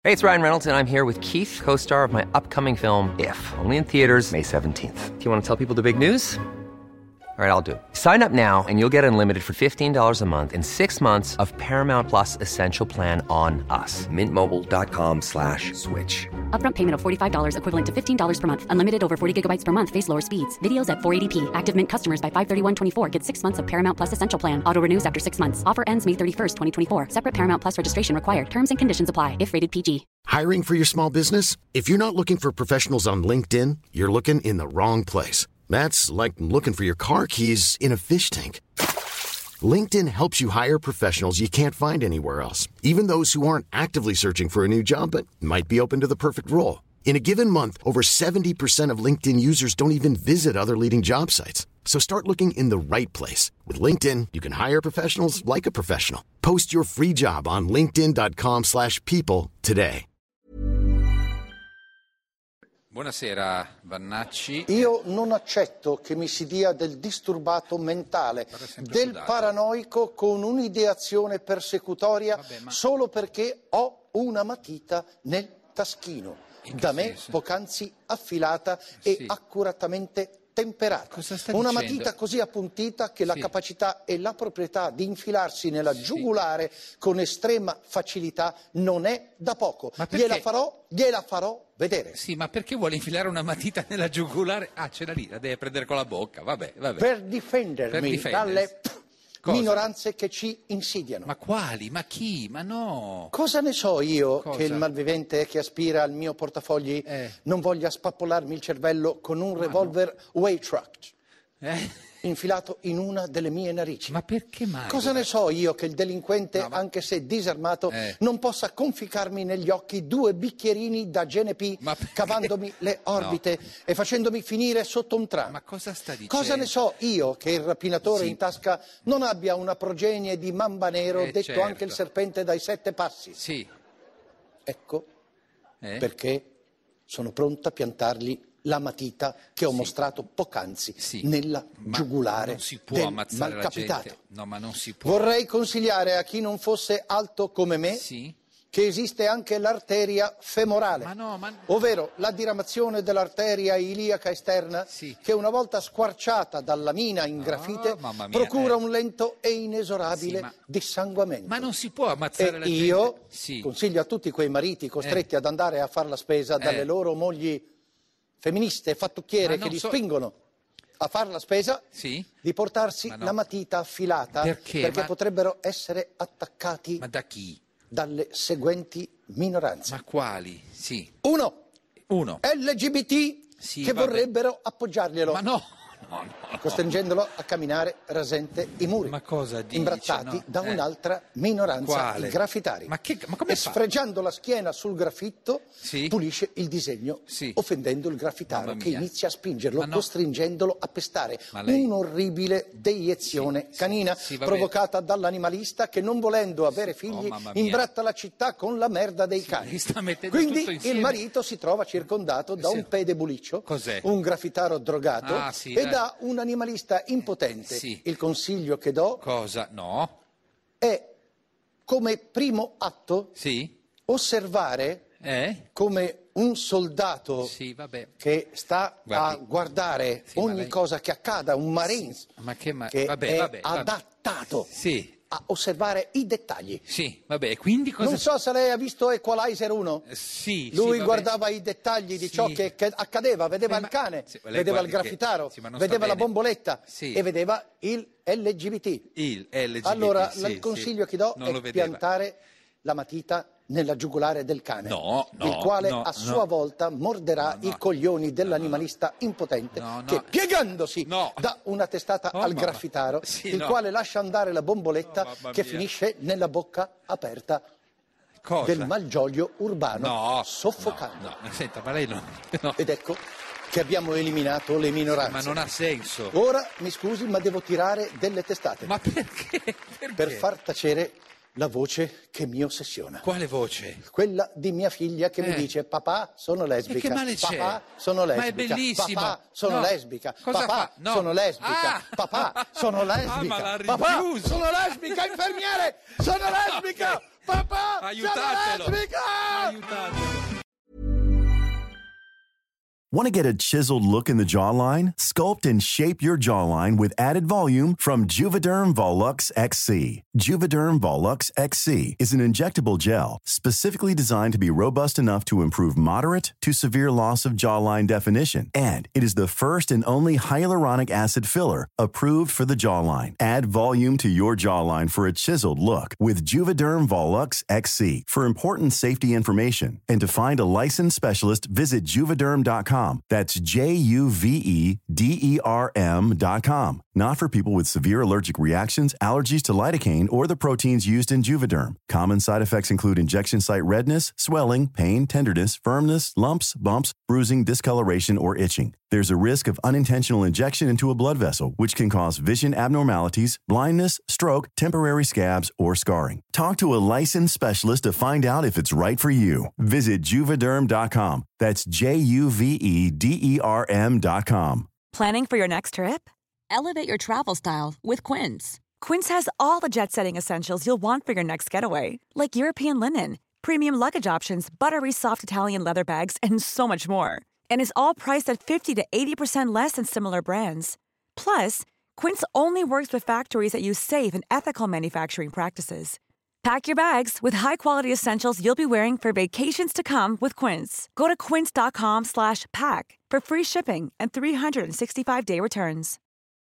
Hey, it's Ryan Reynolds, and I'm here with Keith, co-star of my upcoming film, If, only in theaters May 17th. Do you want to tell people the big news? All right, I'll do it. Sign up now and you'll get unlimited for $15 a month and 6 months of Paramount Plus Essential Plan on us. MintMobile.com/switch. Upfront payment of $45 equivalent to $15 per month. Unlimited over 40 gigabytes per month. Face lower speeds. Videos at 480p. Active Mint customers by 531.24 get 6 months of Paramount Plus Essential Plan. Auto renews after 6 months. Offer ends May 31st, 2024. Separate Paramount Plus registration required. Terms and conditions apply if rated PG. Hiring for your small business? If you're not looking for professionals on LinkedIn, you're looking in the wrong place. That's like looking for your car keys in a fish tank. LinkedIn helps you hire professionals you can't find anywhere else, even those who aren't actively searching for a new job but might be open to the perfect role. In a given month, over 70% of LinkedIn users don't even visit other leading job sites. So start looking in the right place. With LinkedIn, you can hire professionals like a professional. Post your free job on linkedin.com/people today. Buonasera Vannacci. Io non accetto che mi si dia del disturbato mentale, del paranoico con un'ideazione persecutoria solo perché ho una matita nel taschino, da me poc'anzi affilata e accuratamente temperata. Una matita così appuntita che la capacità e la proprietà di infilarsi nella giugulare con estrema facilità non è da poco. Gliela farò vedere. Sì, ma perché vuole infilare una matita nella giugulare? Ah, ce l'ha lì, la deve prendere con la bocca, vabbè. Per difendermi dalle minoranze che ci insidiano. Ma quali? Ma chi? Ma no! Cosa ne so io che il malvivente che aspira al mio portafogli non voglia spappolarmi il cervello con un revolver Waytract infilato in una delle mie narici? Ma perché mai? Cosa ne so io che il delinquente, anche se disarmato, non possa conficcarmi negli occhi 2 bicchierini da GNP cavandomi le orbite e facendomi finire sotto un tram? Ma cosa sta dicendo? Cosa ne so io che il rapinatore in tasca non abbia una progenie di mamba nero, detto anche il serpente dai 7 passi? Sì. Ecco perché sono pronto a piantargli la matita che ho mostrato poc'anzi nella giugulare non si può del ammazzare malcapitato. la gente. No, ma non si può. Vorrei consigliare a chi non fosse alto come me che esiste anche l'arteria femorale, ovvero la diramazione dell'arteria iliaca esterna che una volta squarciata dalla mina in grafite procura un lento e inesorabile dissanguamento. Ma non si può ammazzare la gente. Io consiglio a tutti quei mariti costretti ad andare a fare la spesa dalle loro mogli femministe e fattucchiere che li spingono a fare la spesa di portarsi la matita affilata perché potrebbero essere attaccati da chi? Dalle seguenti minoranze. Ma quali? Uno. LGBT che vorrebbero appoggiarglielo. Ma no. Costringendolo a camminare rasente i muri. Ma cosa dice? Imbrattati da un'altra minoranza, i graffitari. Ma come e sfregiando la schiena sul graffitto pulisce il disegno, offendendo il graffitaro che inizia a spingerlo, costringendolo a pestare. Un'orribile deiezione canina provocata dall'animalista che, non volendo avere figli, imbratta la città con la merda dei cani. Quindi il marito si trova circondato da un pedebuliccio, un graffitaro drogato e da un animalista impotente. Il consiglio che do è, come primo atto, osservare come un soldato che sta a guardare ogni cosa che accada, un Marines che è adattato a osservare i dettagli. Quindi cosa... Non so se lei ha visto Equalizer 1. Lui guardava i dettagli di ciò che accadeva, vedeva il cane, vedeva il graffitaro, vedeva la bomboletta e vedeva il LGBT. Allora, il consiglio che do è piantare la matita nella giugulare del cane, il quale a sua volta morderà i coglioni dell'animalista impotente che, piegandosi, dà una testata al graffitaro, il quale lascia andare la bomboletta che finisce nella bocca aperta del malgioglio urbano, soffocando. Senta, ma lei Ed ecco che abbiamo eliminato le minoranze. Ma non ha senso. Ora, mi scusi, ma devo tirare delle testate. Ma perché? Per far tacere la voce che mi ossessiona. Quale voce? Quella di mia figlia che mi dice: papà, sono lesbica. E che male c'è? Papà, sono lesbica. Ma è bellissimo. Papà, sono lesbica. Cosa papà, fa? No. sono lesbica. Papà, sono lesbica. ma l'ha Papà, rinchiuso. sono lesbica, infermiere! Sono lesbica! Papà, Aiutatelo. sono lesbica! Aiutatelo. Want to get a chiseled look in the jawline? Sculpt and shape your jawline with added volume from Juvederm Volux XC. Juvederm Volux XC is an injectable gel specifically designed to be robust enough to improve moderate to severe loss of jawline definition. And it is the first and only hyaluronic acid filler approved for the jawline. Add volume to your jawline for a chiseled look with Juvederm Volux XC. For important safety information and to find a licensed specialist, visit Juvederm.com. That's JUVEDERM.com. Not for people with severe allergic reactions, allergies to lidocaine, or the proteins used in Juvederm. Common side effects include injection site redness, swelling, pain, tenderness, firmness, lumps, bumps, bruising, discoloration, or itching. There's a risk of unintentional injection into a blood vessel, which can cause vision abnormalities, blindness, stroke, temporary scabs, or scarring. Talk to a licensed specialist to find out if it's right for you. Visit Juvederm.com. That's JUVEDERM.com. Planning for your next trip? Elevate your travel style with Quince. Quince has all the jet-setting essentials you'll want for your next getaway, like European linen, premium luggage options, buttery soft Italian leather bags, and so much more. And is all priced at 50 to 80% less than similar brands. Plus, Quince only works with factories that use safe and ethical manufacturing practices. Pack your bags with high-quality essentials you'll be wearing for vacations to come with Quince. Go to quince.com/pack for free shipping and 365-day returns.